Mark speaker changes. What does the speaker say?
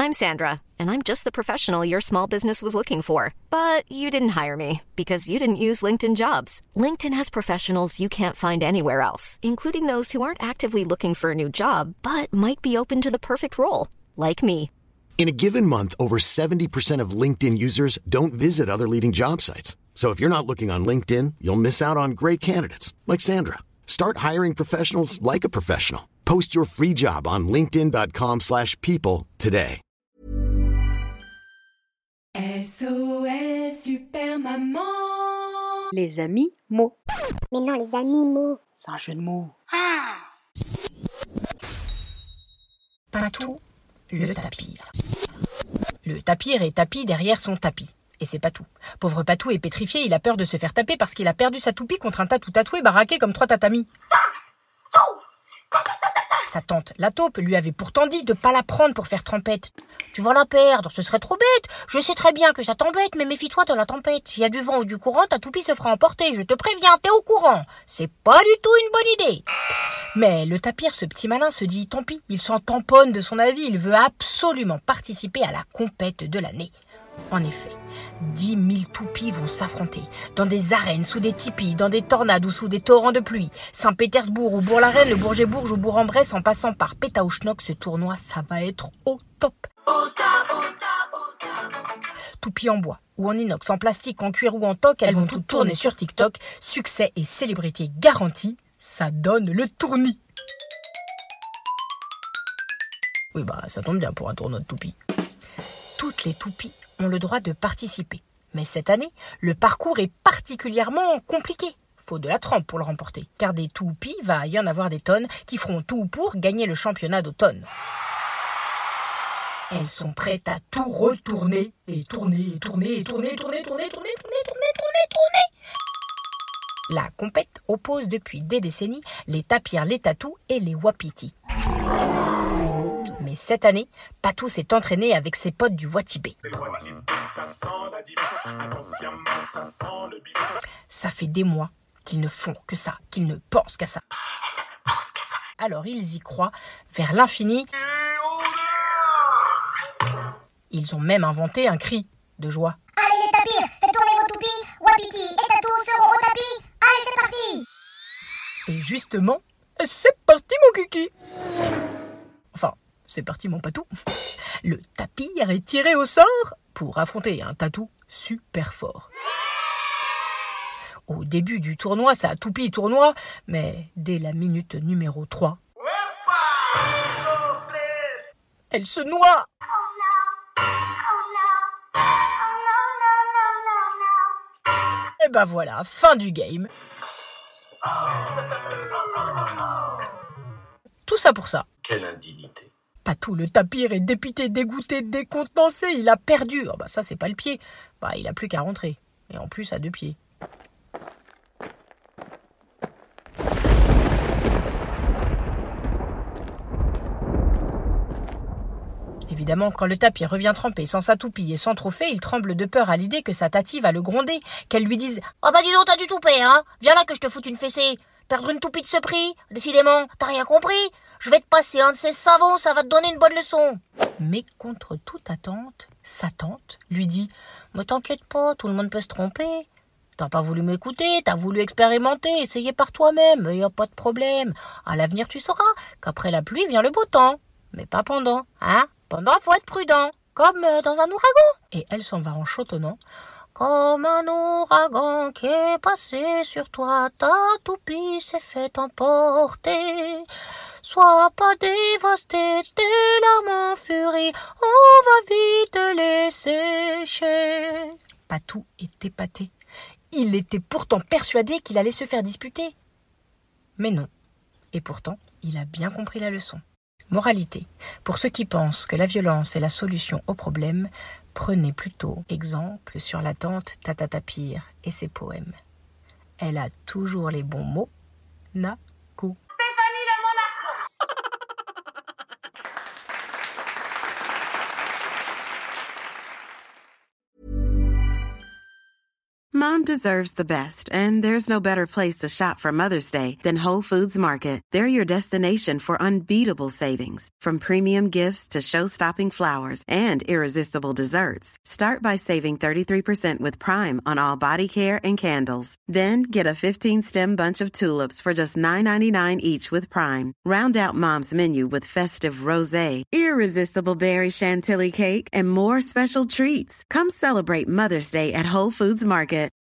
Speaker 1: I'm Sandra, and I'm just the professional your small business was looking for. But you didn't hire me because you didn't use LinkedIn Jobs. LinkedIn has professionals you can't find anywhere else, including those who aren't actively looking for a new job, but might be open to the perfect role, like me.
Speaker 2: In a given month, over 70% of LinkedIn users don't visit other leading job sites. So if you're not looking on LinkedIn, you'll miss out on great candidates like Sandra. Start hiring professionals like a professional. Post your free job on linkedin.com/people today.
Speaker 3: SOS Super Maman.
Speaker 4: Les amis mots.
Speaker 5: Mais non, les animaux.
Speaker 4: C'est un jeu de mots.
Speaker 6: Patou, le tapir. Le tapir est tapis derrière son tapis. Et c'est Patou. Pauvre Patou est pétrifié, il a peur de se faire taper parce qu'il a perdu sa toupie contre un tatou tatoué baraqué comme 3 tatamis. Sa tante, la taupe, lui avait pourtant dit de pas la prendre pour faire trempette. Tu vas la perdre, ce serait trop bête. Je sais très bien que ça t'embête, mais méfie-toi de la tempête. S'il y a du vent ou du courant, ta toupie se fera emporter. Je te préviens, t'es au courant. C'est pas du tout une bonne idée. Mais le tapir, ce petit malin, se dit tant pis. Il s'en tamponne de son avis. Il veut absolument participer à la compète de l'année. En effet, 10 000 toupies vont s'affronter dans des arènes, sous des tipis, dans des tornades ou sous des torrents de pluie. Saint-Pétersbourg ou Bourg-la-Reine, le Bourget-Bourges ou Bourg-en-Bresse, en passant par Pétaouchnok, ce tournoi, ça va être au top. Toupies en bois ou en inox, en plastique, en cuir ou en toc, elles vont toutes tourner sur TikTok. Succès et célébrité garantie, ça donne le tournis. Oui, ça tombe bien pour un tournoi de toupies. Toutes les toupies ont le droit de participer. Mais cette année, le parcours est particulièrement compliqué. Faut de la trempe pour le remporter, car des toupies, va y en avoir des tonnes qui feront tout pour gagner le championnat d'automne. Elles sont prêtes à tout retourner et tourner. La compète oppose depuis des décennies les tapirs, les tatous et les wapitis. Mais cette année, Patou s'est entraîné avec ses potes du Watibé. Ça fait des mois qu'ils ne font que ça, qu'ils ne pensent qu'à ça. Alors ils y croient vers l'infini. Ils ont même inventé un cri de joie.
Speaker 5: Allez les tapirs, faites tourner vos toupies. Wapiti et Tatou seront au tapis. Allez, c'est parti.
Speaker 6: Et justement, c'est parti mon kiki. Enfin, c'est parti mon Patou. Le tapir est tiré au sort pour affronter un tatou super fort. Au début du tournoi, ça a toupie tournoi, mais dès la minute numéro 3, elle se noie. Et ben voilà, fin du game. Tout ça pour ça.
Speaker 7: Quelle indignité.
Speaker 6: Patou, le tapir, est dépité, dégoûté, décontenancé. Il a perdu. Ça, c'est pas le pied. Il a plus qu'à rentrer. Et en plus, à 2 pieds. Évidemment, quand le tapir revient trempé sans sa toupie et sans trophée, il tremble de peur à l'idée que sa tati va le gronder, qu'elle lui dise « Oh dis donc, t'as du toupet, hein. Viens là que je te foute une fessée. Perdre une toupie de ce prix, décidément, t'as rien compris. Je vais te passer un de ces savons, ça va te donner une bonne leçon. » Mais contre toute attente, sa tante lui dit « Mais t'inquiète pas, tout le monde peut se tromper. T'as pas voulu m'écouter, t'as voulu expérimenter, essayer par toi-même, y a pas de problème. À l'avenir, tu sauras qu'après la pluie vient le beau temps. Mais pas pendant, hein. Pendant, faut être prudent, comme dans un ouragan. » Et elle s'en va en chantonnant. Comme un ouragan qui est passé sur toi, ta toupie s'est fait emporter. Sois pas dévasté, tes larmes en furie, on va vite les sécher. Patou est épaté. Il était pourtant persuadé qu'il allait se faire disputer. Mais non. Et pourtant, il a bien compris la leçon. Moralité, pour ceux qui pensent que la violence est la solution au problème, prenez plutôt exemple sur la tante Tata Tapir et ses poèmes. Elle a toujours les bons mots. Nakou.
Speaker 3: Stéphanie de Monaco.
Speaker 7: Mom deserves the best, and there's no better place to shop for Mother's Day than Whole Foods Market. They're your destination for unbeatable savings, from premium gifts to show-stopping flowers and irresistible desserts. Start by saving 33% with Prime on all body care and candles. Then get a 15-stem bunch of tulips for just $9.99 each with Prime. Round out Mom's menu with festive rosé, irresistible berry chantilly cake, and more special treats. Come celebrate Mother's Day at Whole Foods Market.